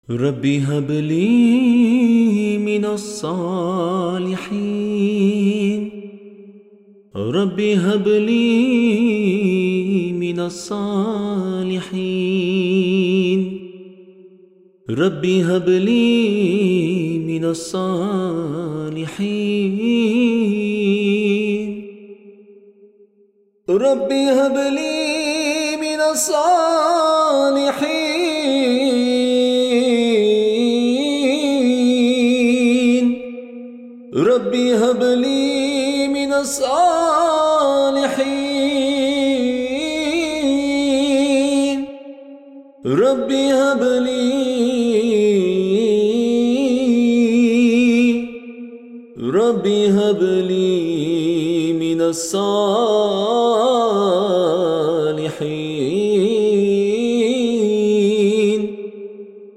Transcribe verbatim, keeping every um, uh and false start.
ربي هب لي من الصالحين. ربي هب لي من الصالحين. ربي هب لي من الصالحين. ربي هب لي من الصالحين. ربي هب لي من الصالحين. ربي هب لي ربي هب لي من الصالحين.